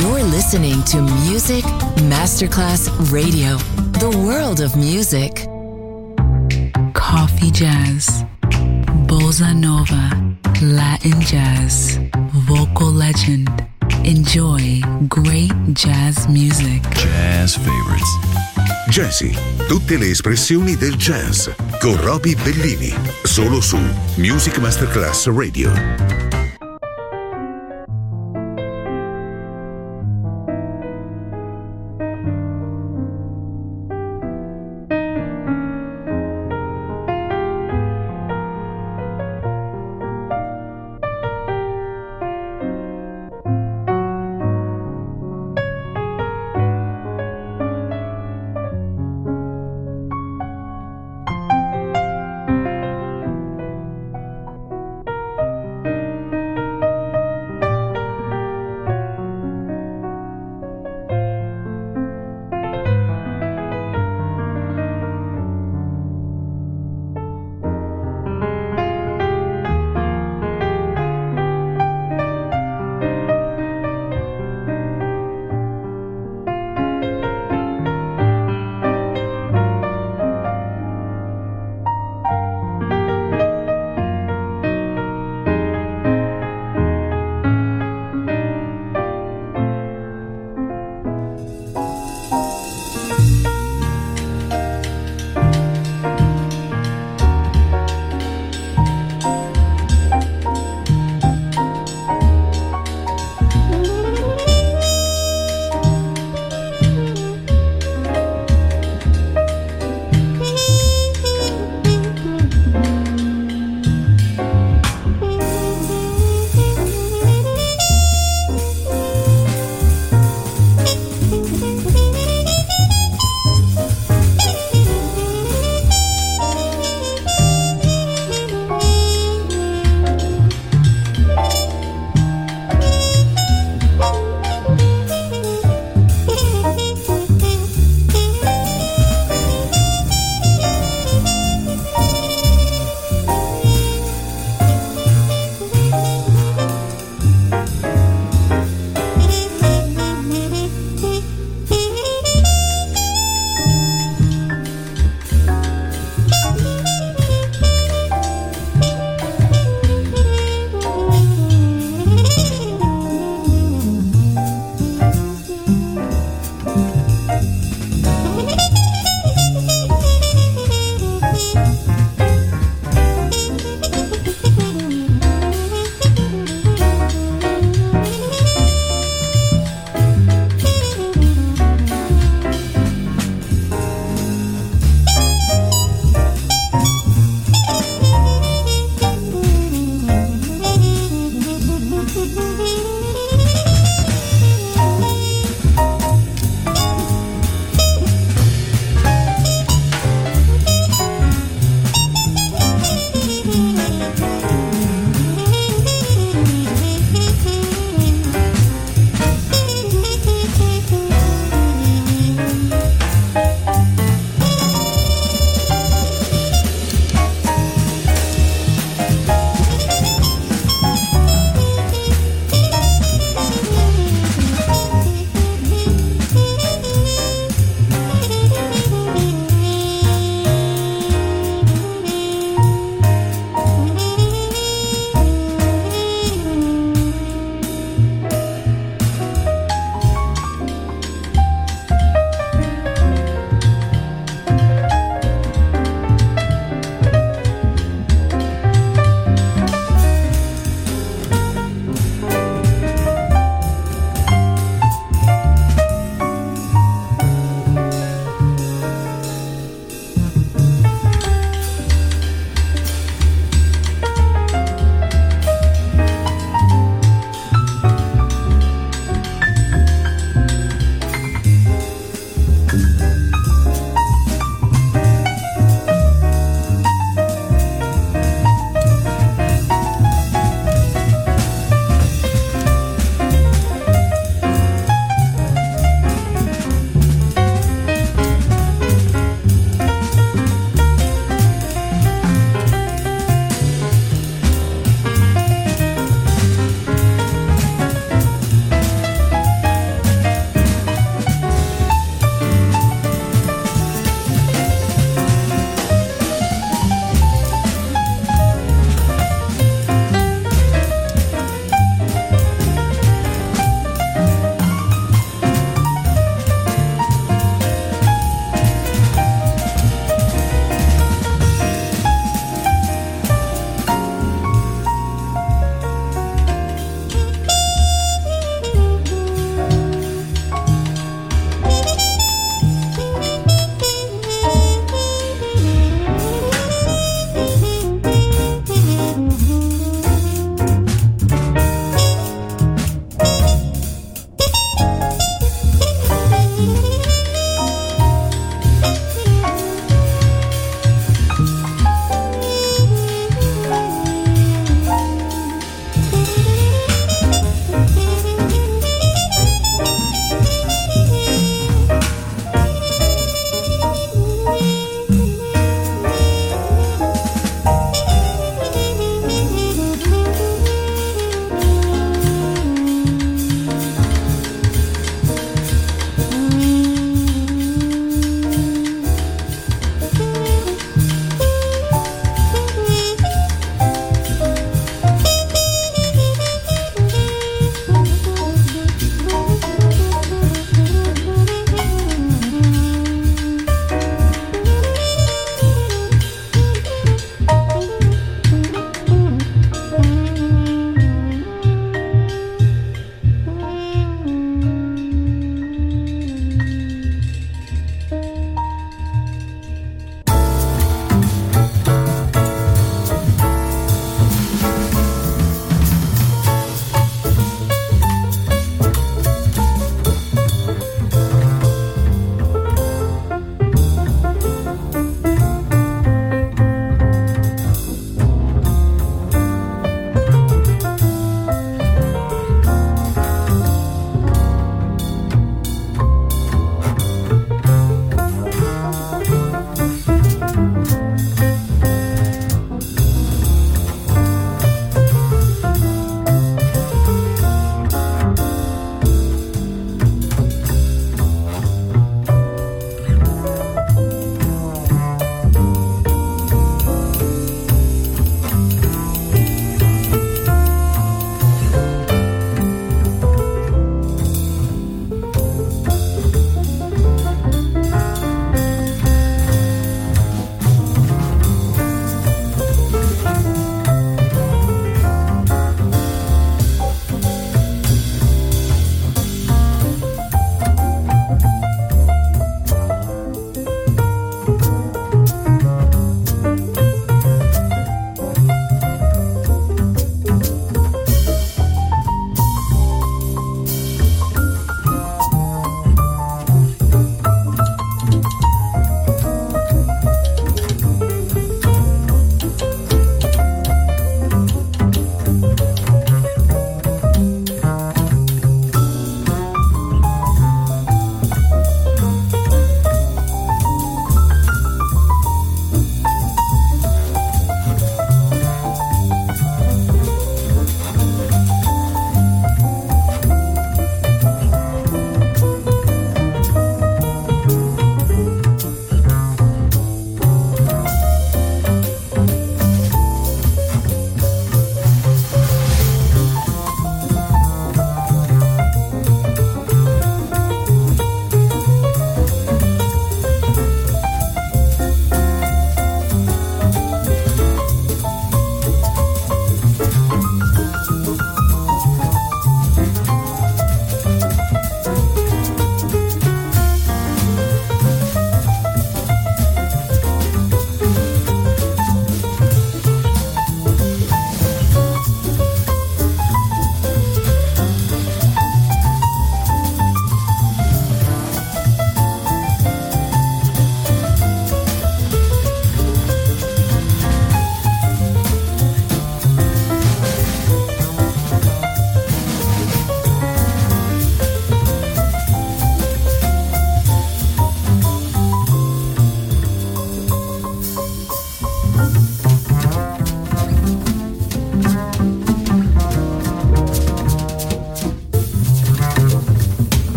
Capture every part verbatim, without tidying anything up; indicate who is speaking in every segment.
Speaker 1: You're listening to Music Masterclass Radio, the world of music.
Speaker 2: Coffee jazz, bossa nova, Latin jazz, vocal legend. Enjoy great jazz music.
Speaker 3: Jazz favorites.
Speaker 4: Jazzy, tutte le espressioni del jazz con Roby Bellini, solo su Music Masterclass Radio.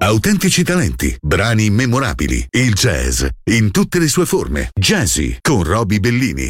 Speaker 4: autentici talenti, brani memorabili, il jazz in tutte le sue forme. Jazzy con Roby Bellini.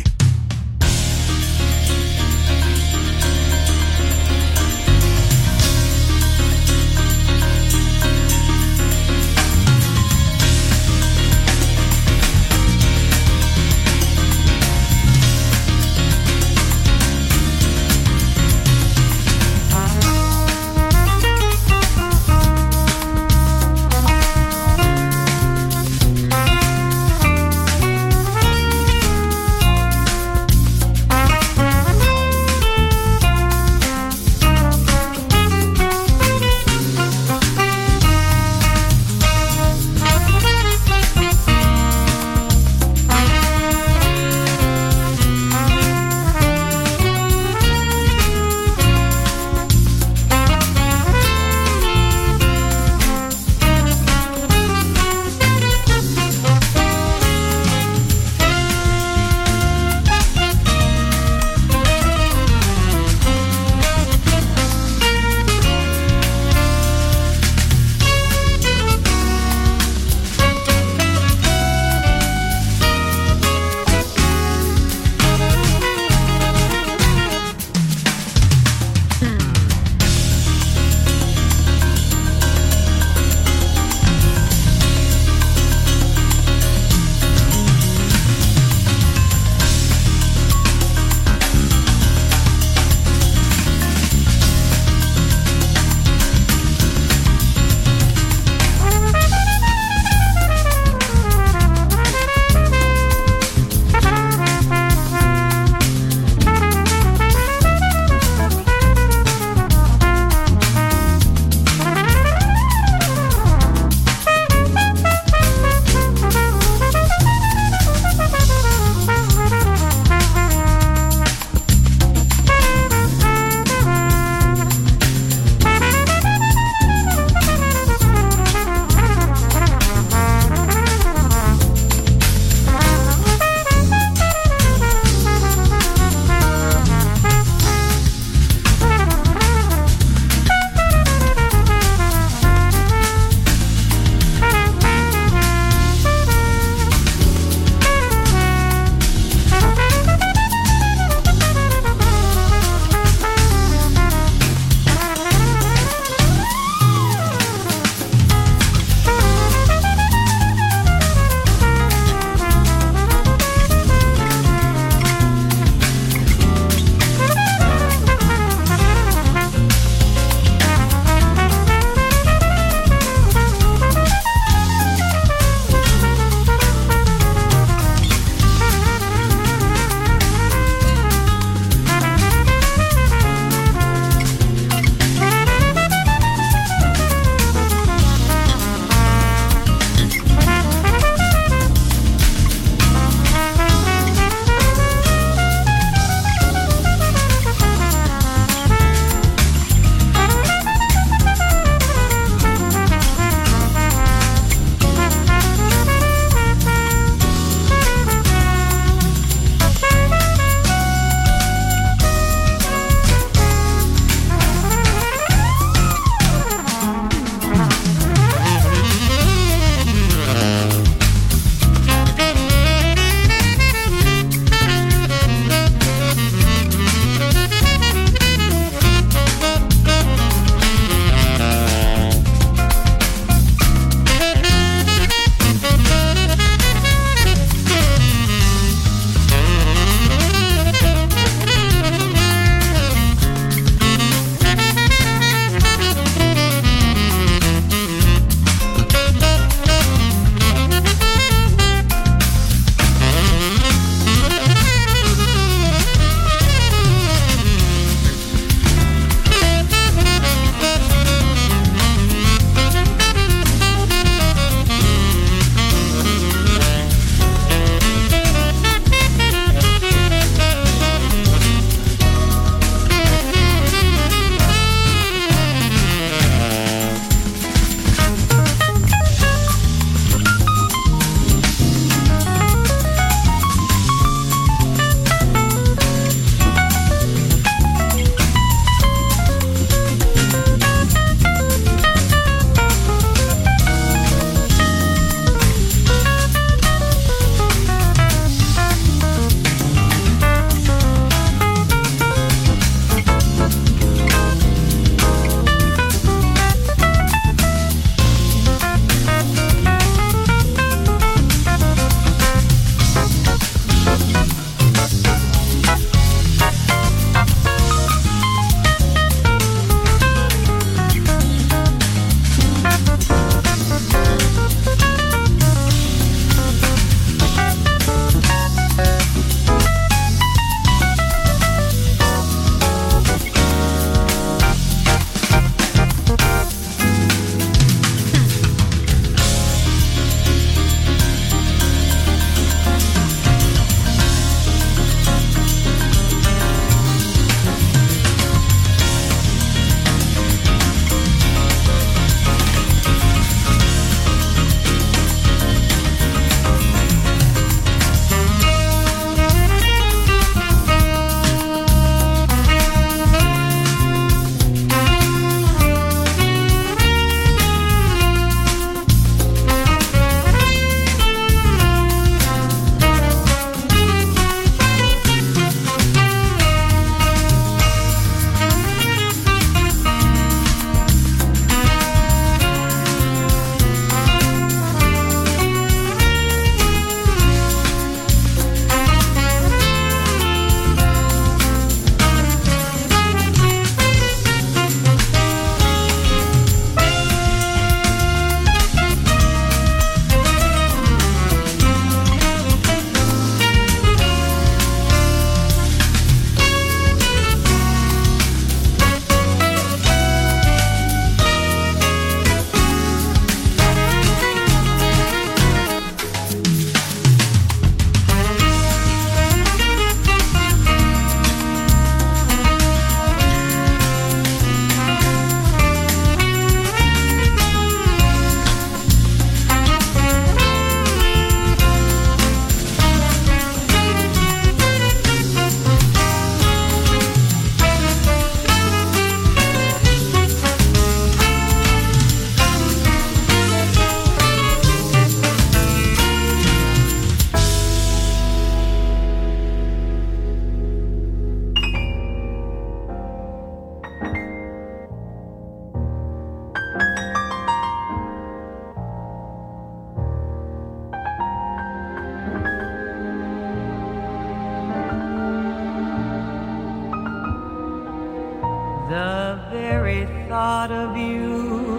Speaker 3: thought of you.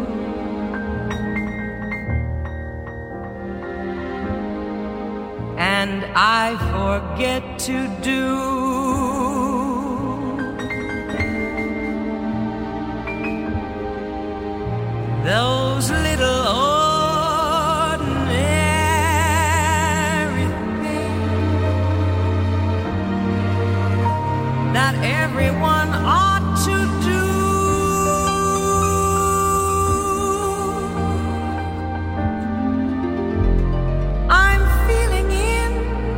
Speaker 3: And I forget to do those little ordinary things that everyone ought to do. I'm feeling in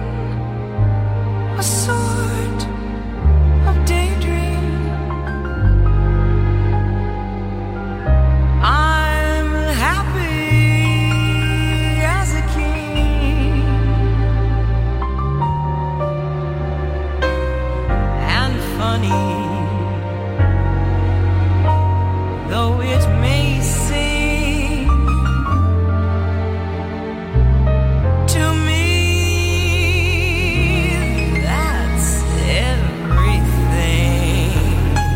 Speaker 3: a sort of daydream. I'm happy as a king, and funny though it may seem to me, that's everything.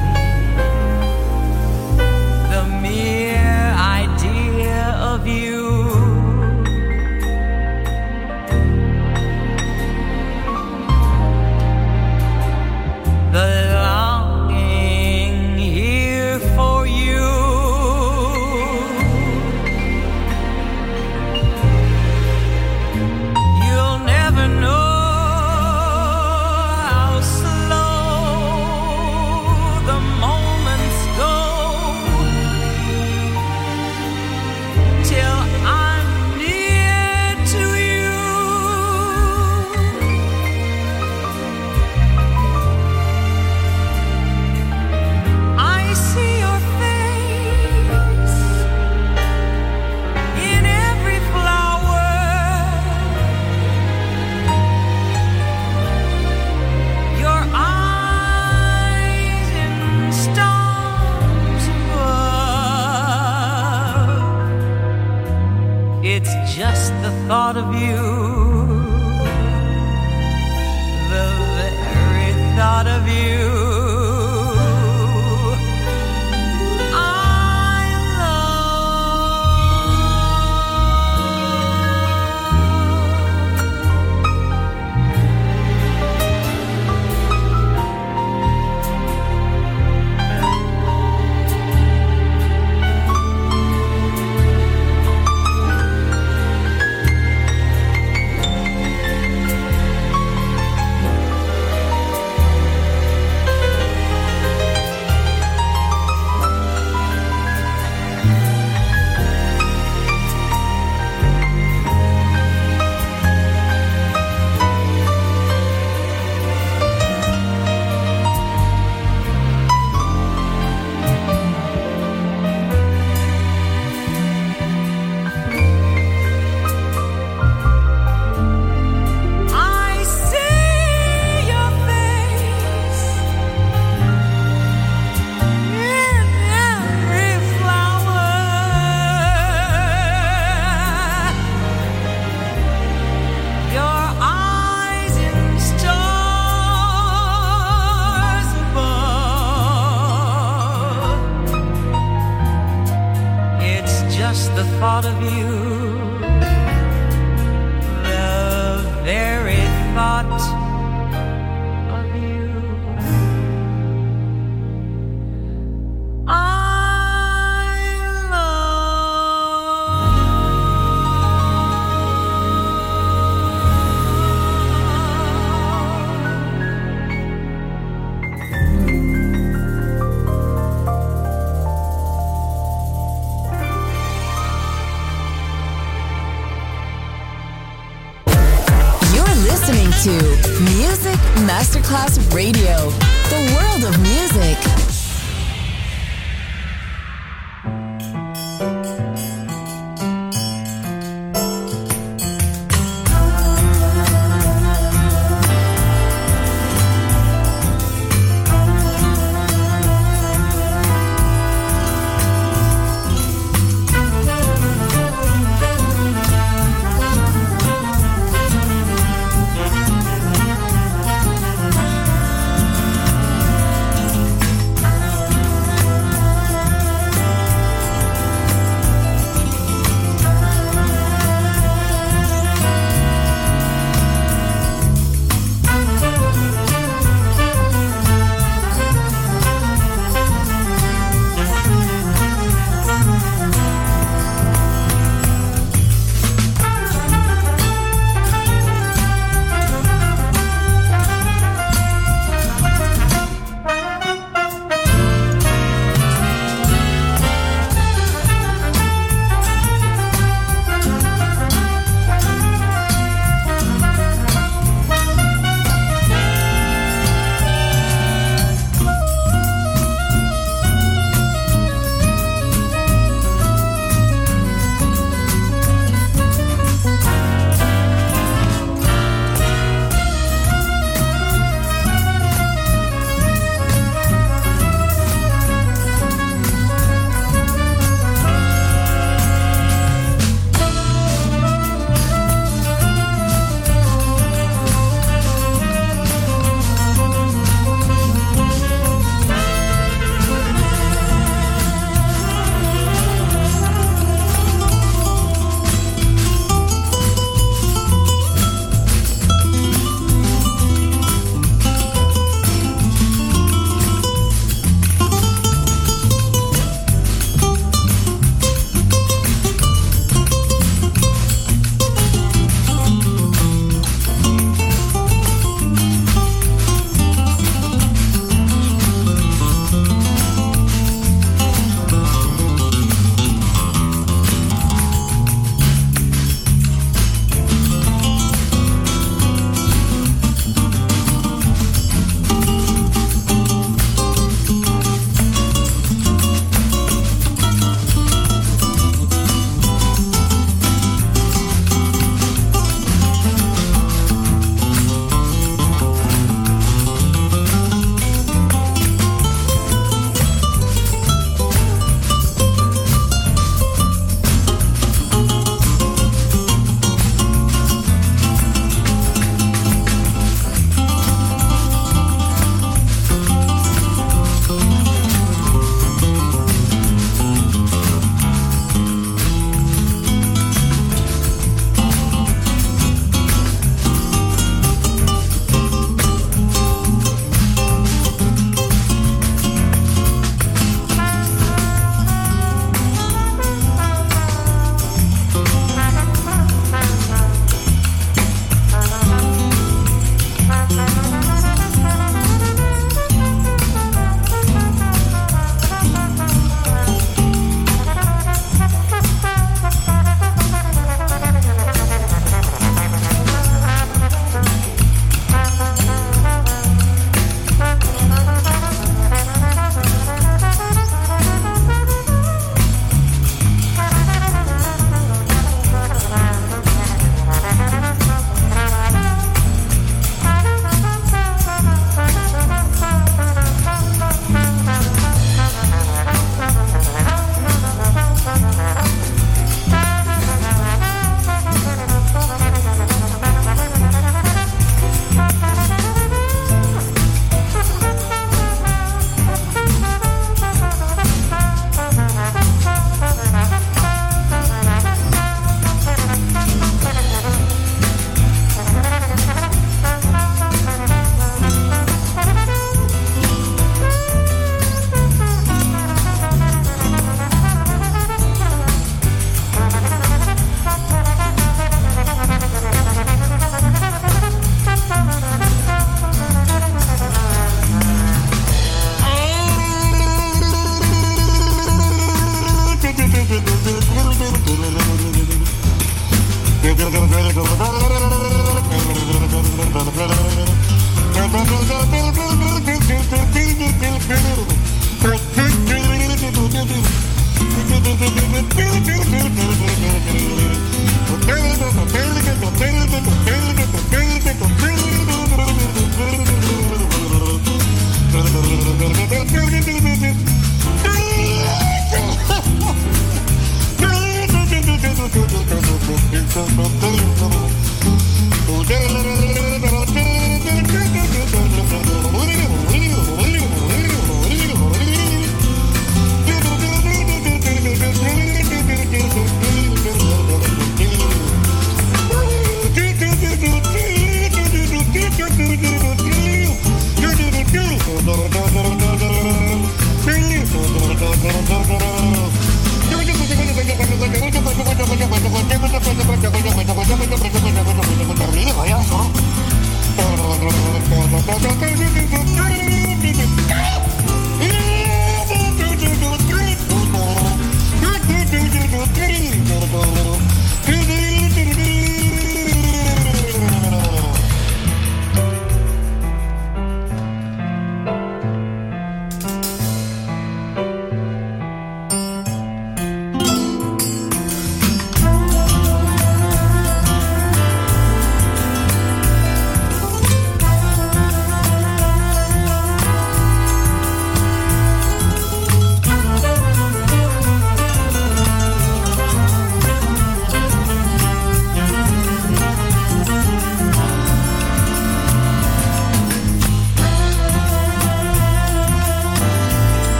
Speaker 3: The mere idea of you the longing here for you. You'll never know how slow the moments go till I'm near to you. I see your face in every flower. Your eyes in stars above. It's just the thought of you, the very thought of you. I I see your face in every flower. Your eyes in stars above. It's just the thought of you, the very thought of you. I
Speaker 1: You're listening to Music Masterclass Radio, the world of music.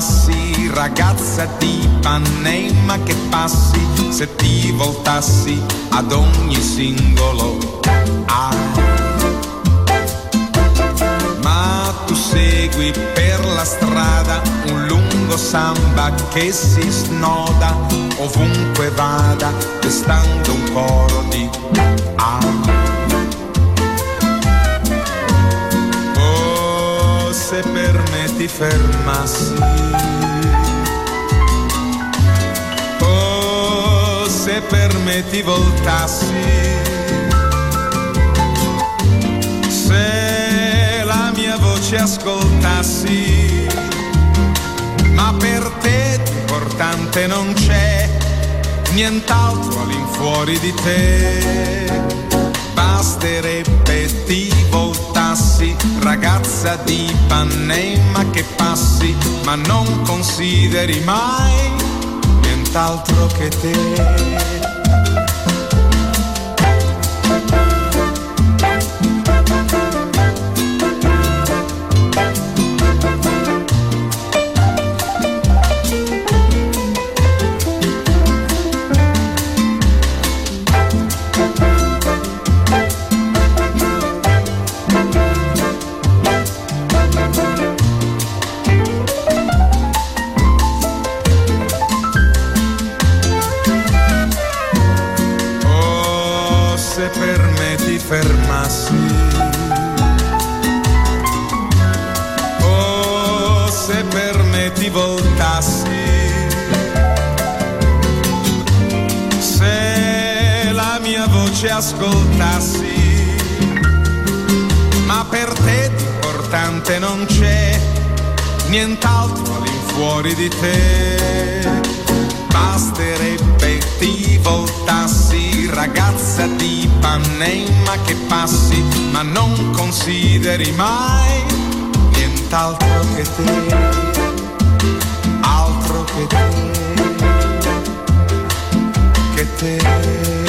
Speaker 5: voltassi, ragazza di Ipanema che passi, se ti voltassi ad ogni singolo A. Ma tu segui per la strada un lungo samba che si snoda, ovunque vada, destando un coro di A. Oh, se per me ti fermassi, oh, se per me ti voltassi, se la mia voce ascoltassi, ma per te importante non c'è nient'altro all'infuori di te. Basterebbe ti voltassi, ragazza di Ipanema che passi, ma non consideri mai nient'altro che te. Fermassi, oh, se per me ti voltassi, se la mia voce ascoltassi, ma per te importante non c'è nient'altro all'infuori di te. Basterebbe ti voltassi, ragazza di Ipanema che passi, ma non consideri mai nient'altro che te, altro che te, che te.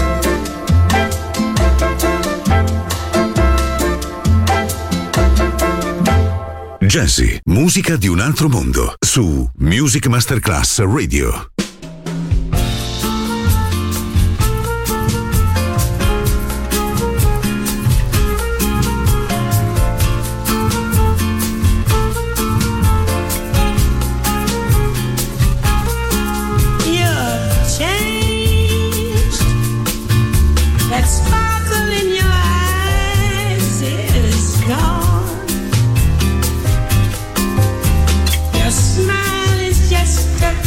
Speaker 4: Jazzy, musica di un altro mondo, su Music Masterclass Radio.
Speaker 6: Smile is just a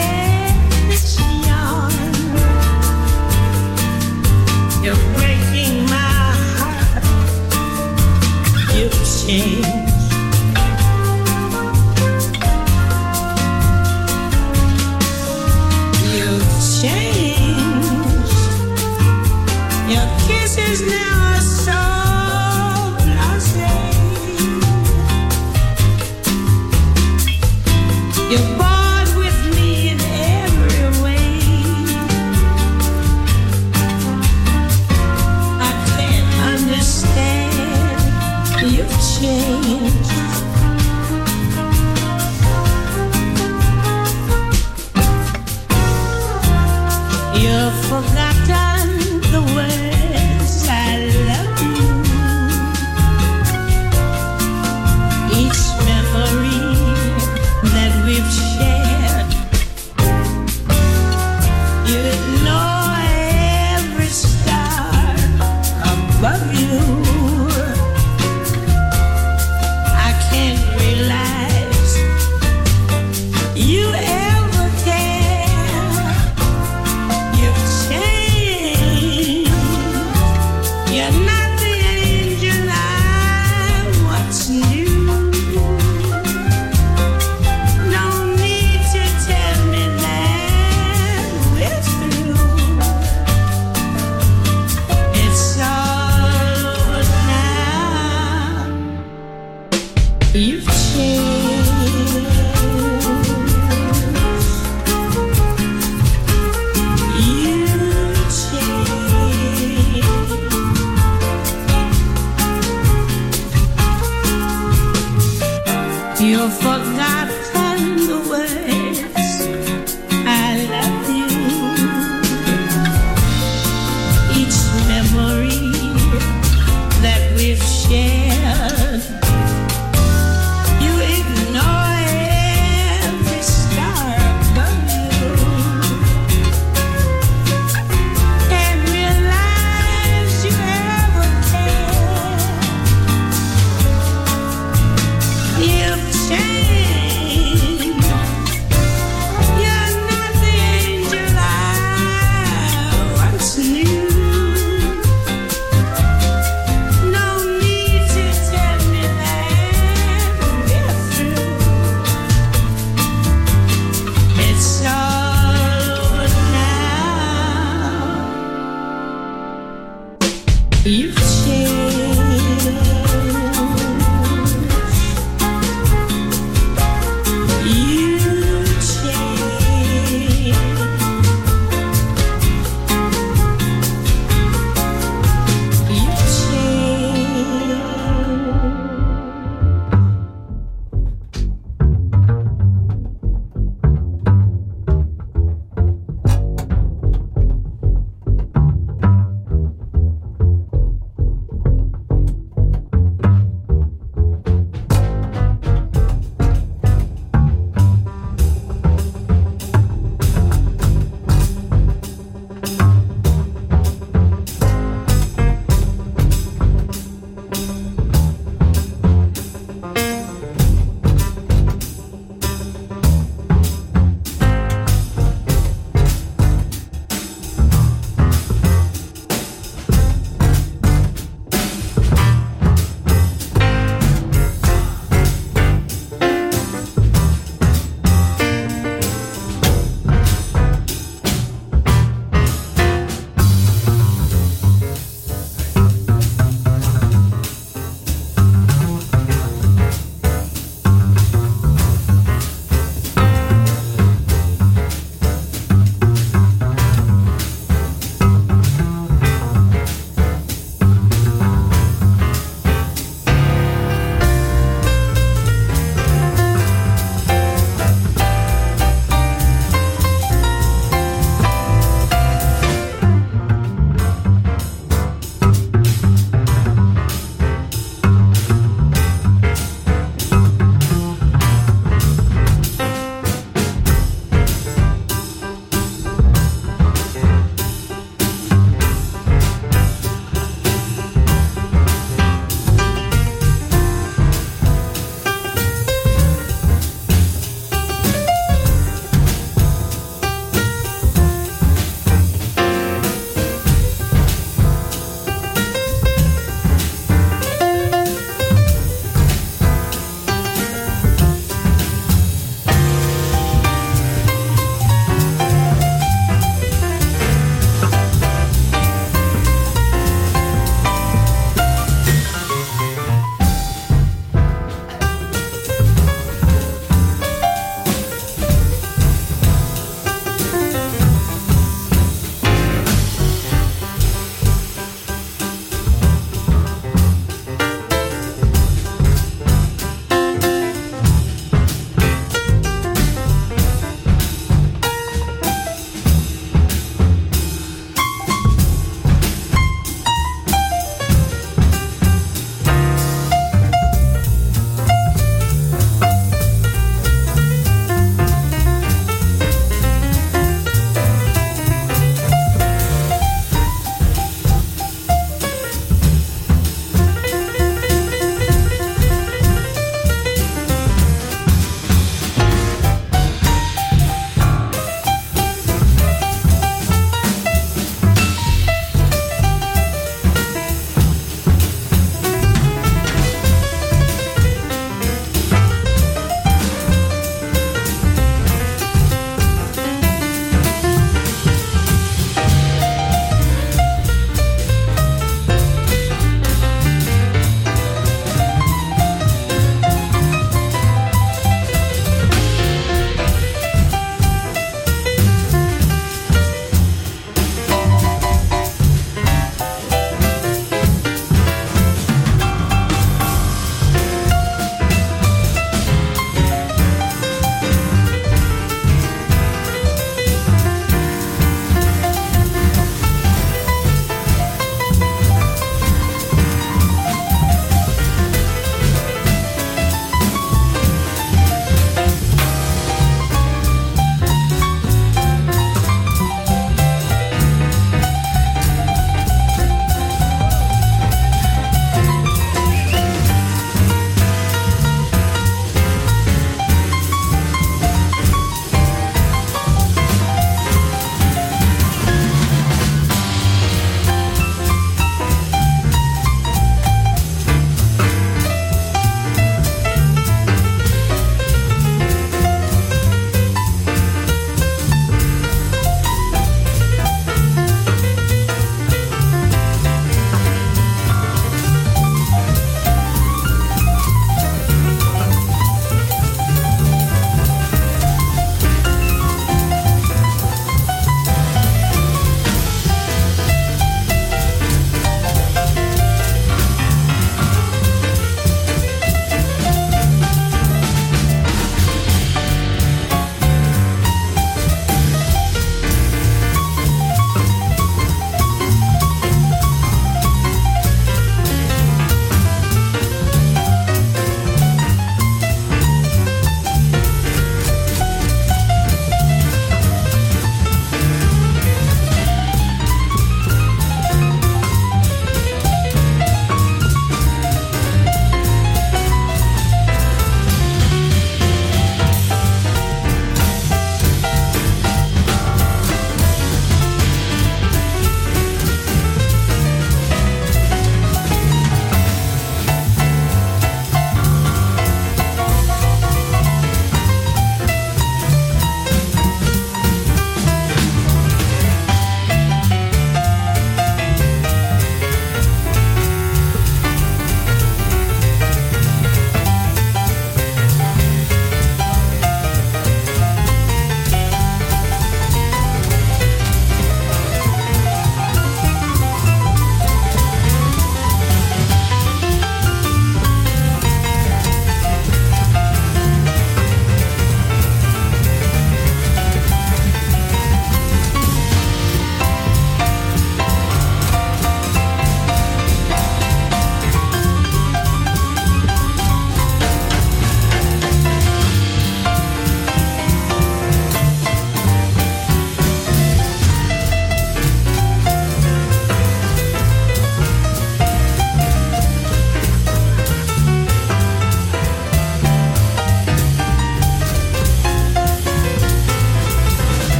Speaker 7: forgotten the words I love you. Each memory that we've shared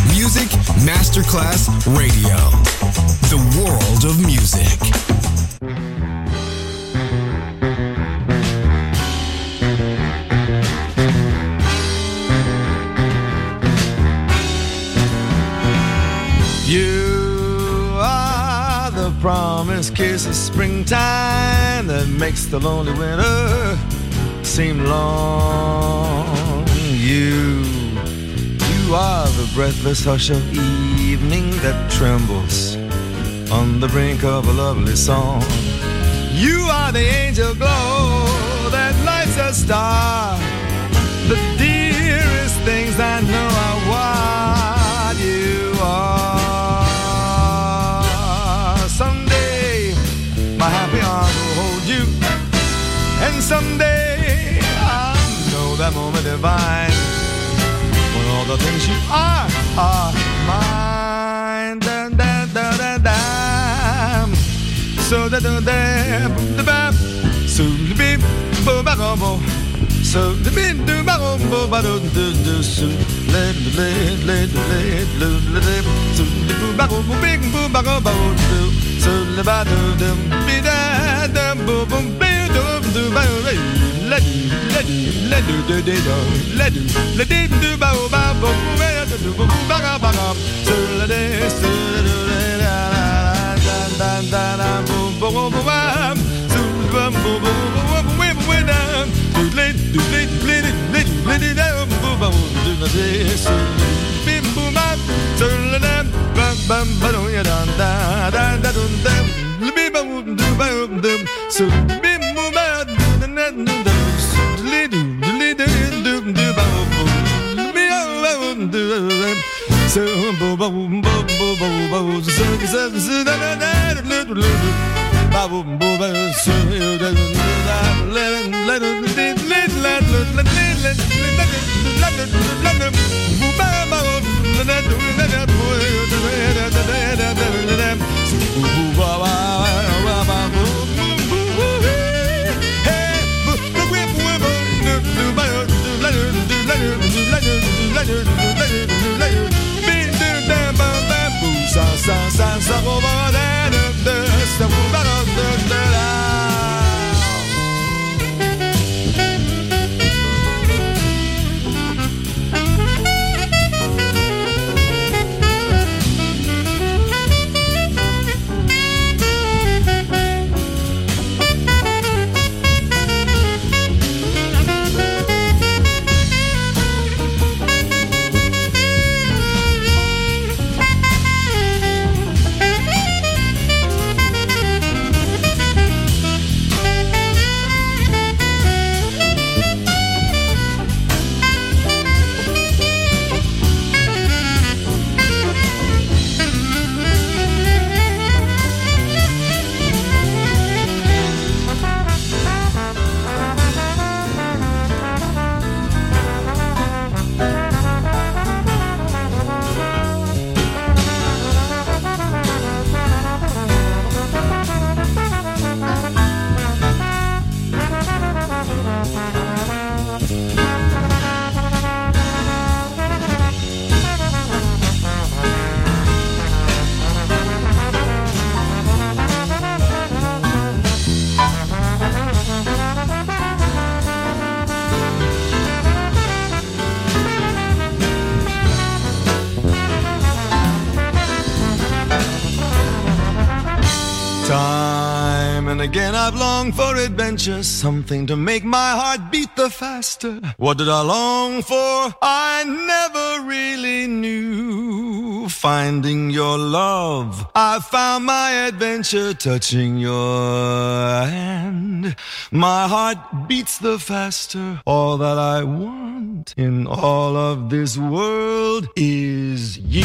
Speaker 6: Music Masterclass Radio. The world of music.
Speaker 8: You are the promised kiss of springtime that makes the lonely winter seem long. You, you are the breathless hush of evening that trembles on the brink of a lovely song. You are the angel glow that lights a star, the dearest things I know are what you are. Someday my happy arms will hold you, and someday I'll know that moment divine when all the things you are are mine. Dun, dun, dun, dun, dun. So da da da da da. So the beep bo ba go bo. So the beep do ba go bo ba do do do. So let let let let let let. So the bo ba go bo big bo ba go bo do. So the ba do do be da da bo bo be do do ba let let let do do do let do let do ba ba bo be do bo ba ga ba ga. So let it so da da da boom boom boom bam boom boom boom boom boom boom down do let do let let let let it down boom boom do the this bim boom bam so let them bam bam bam ya da da da da dum dum bim boom do bam dum so bim boom bam do the do the let do let do do bam boom bim do so boom boom boom boom boom so so so da da da ba boom boom so da da let let let let let let let let let boom ba ba da da da da boom ba ba ba ba boom hey boom boom boom ba let let let let sa sa sa sa over there the the the again I've longed for adventure, something to make my heart beat the faster. What did I long for? I never really knew. Finding your love, I found my adventure, touching your hand. My heart beats the faster. All that I want in all of this world is you.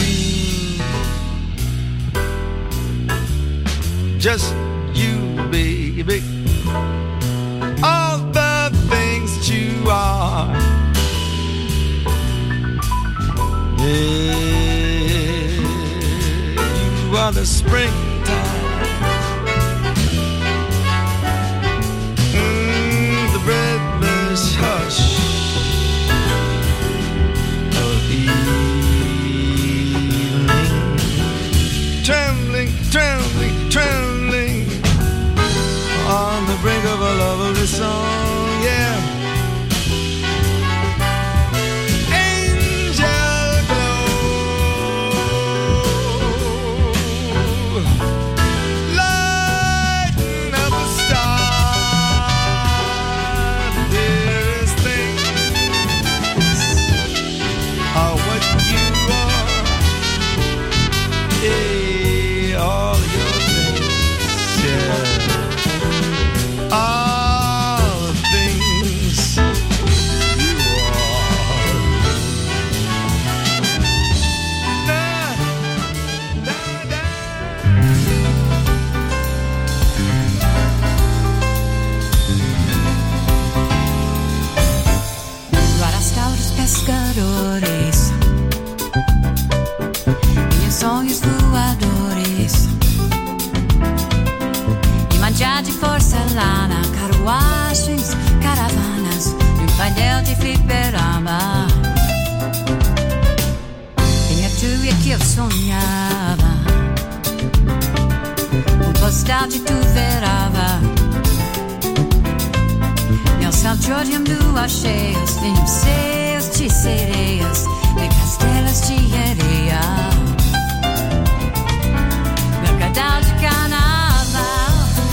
Speaker 8: Just you, baby, all the things that you are. Yeah, you are the springtime, mm, the breathless hush of evening.
Speaker 9: eu sonhava, um postal de tu verava. Nel salggiordium lua cheias, vinham seios de sereias, e castelas de areia. Mercadal de carnaval,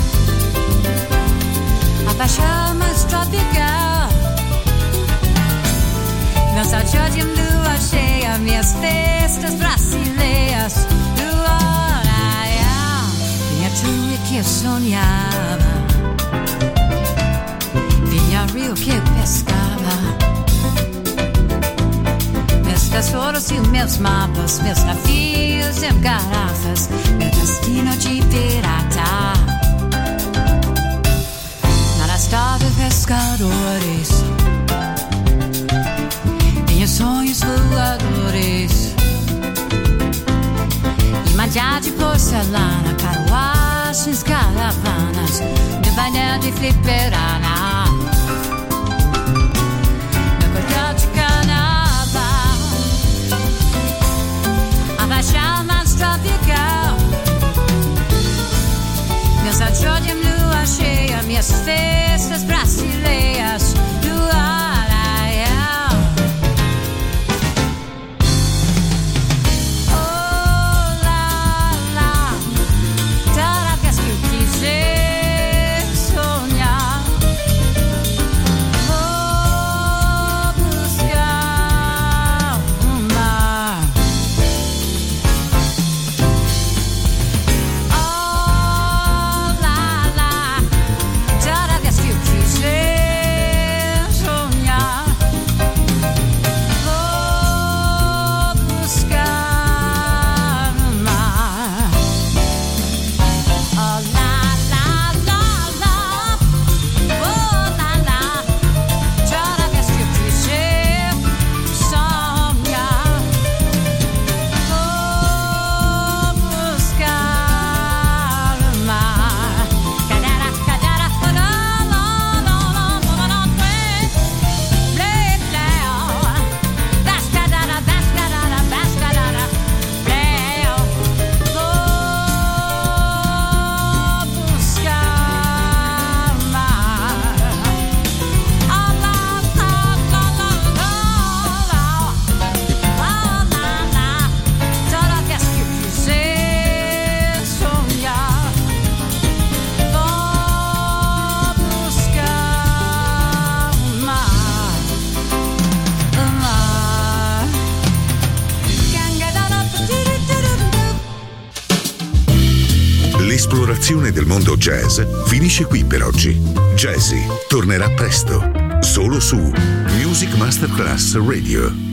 Speaker 9: a paixão mais tropical. Nel salggiordium lua cheia, minhas festas brasileiras. Lua, vinha tu e que eu sonhava, vinha rio que eu pescava. Meus tesouros e meus mapas, meus navios e garrafas, meu destino de pirata. Nada estava pescadores, tinha sonhos voadores, e manjar de porcelana, carruagens, caravanas, de banha de fliperana. Meu cordão de carnaval, a paixão mais tropical. Meus salggiordium lua cheia, minhas festas brasileiras. Lua,
Speaker 4: L'esplorazione del mondo jazz finisce qui per oggi. Jazzy tornerà presto, solo su Music Masterclass Radio.